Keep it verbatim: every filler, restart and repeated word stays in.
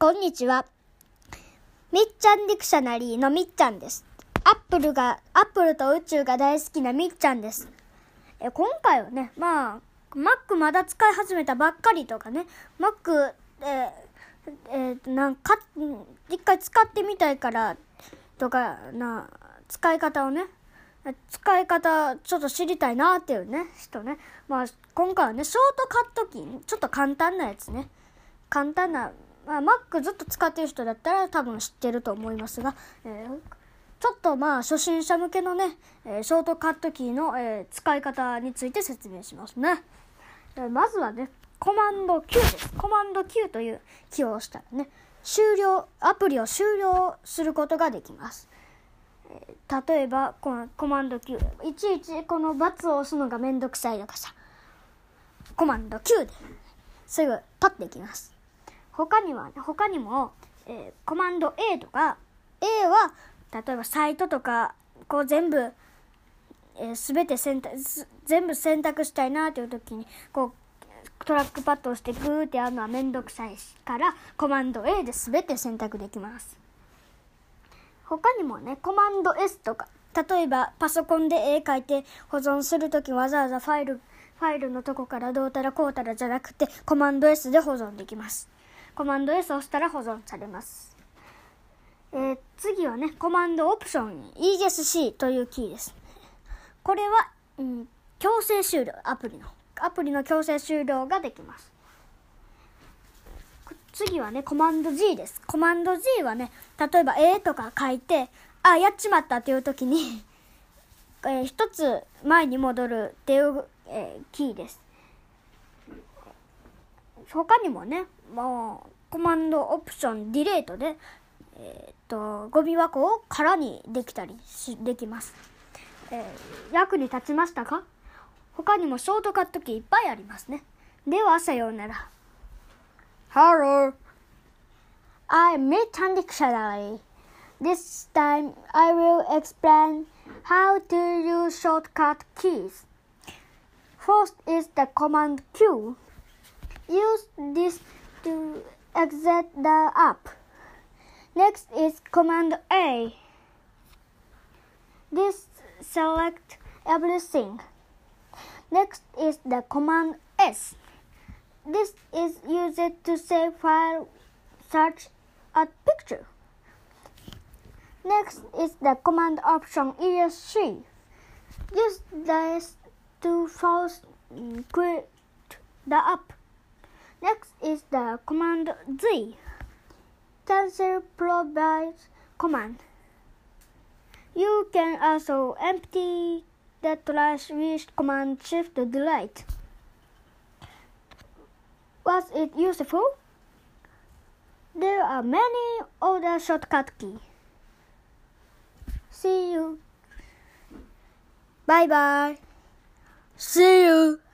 こんにちは。みっちゃんディクショナリーのみっちゃんです。アップルが、アップルと宇宙が大好きなみっちゃんです。え今回はね、まあ、Mac まだ使い始めたばっかりとかね、Mac、えーえー、なんか、一回使ってみたいからとかな、使い方をね、使い方ちょっと知りたいなっていうね、人ね。まあ、今回はね、ショートカットキー、ちょっと簡単なやつね。簡単な、まあ、Mac ずっと使ってる人だったら多分知ってると思いますが、えー、ちょっとまあ初心者向けのね、えー、ショートカットキーの、えー、使い方について説明しますね。えー、まずはね、コマンド Q です。コマンド Q というキーを押したらね、終了、アプリを終了することができます。えー、例えばこのコマンド Q、いちいちこのバツを押すのがめんどくさいのかさ、コマンド Q ですぐ取っていきます。他には、他にも、えー、コマンド A とか、A は、例えばサイトとか、こう全部、えー、すべて選択、全部選択したいなという時に、こう、トラックパッドを押してグーってやるのはめんどくさいから、コマンド A ですべて選択できます。他にもね、コマンド S とか、例えばパソコンで絵描いて保存するときわざわざファイル、ファイルのとこからどうたらこうたらじゃなくて、コマンド S で保存できます。コマンド S を押したら保存されます。えー、次はね、コマンドオプション イーエスシー というキーです。これは、うん、強制終了、アプリの。アプリの強制終了ができます。次はね、コマンド G です。コマンド G はね、例えば絵とか書いて、あ、やっちまったっていう時に、えー、一つ前に戻るっていう、えー、キーです。他にもね、もうコマンドオプションディレートで、えー、っとゴミ箱を空にできたりしできます。えー、役に立ちましたか？他にもショートカットキーいっぱいありますね。ではさようなら。Hello, I'm Mi-chan Dictionary. This time I will explain how to use shortcut keys. First is the command Q.Use this to exit the app. Next is command A. This select everything. Next is the command S. This is used to save file, search a picture. Next is the command option E S C. Use this to force quit the app.Next is the command Z. Cancel provides command. You can also empty the trash with command shift delete. Was it useful? There are many other shortcut keys. See you. Bye bye. See you.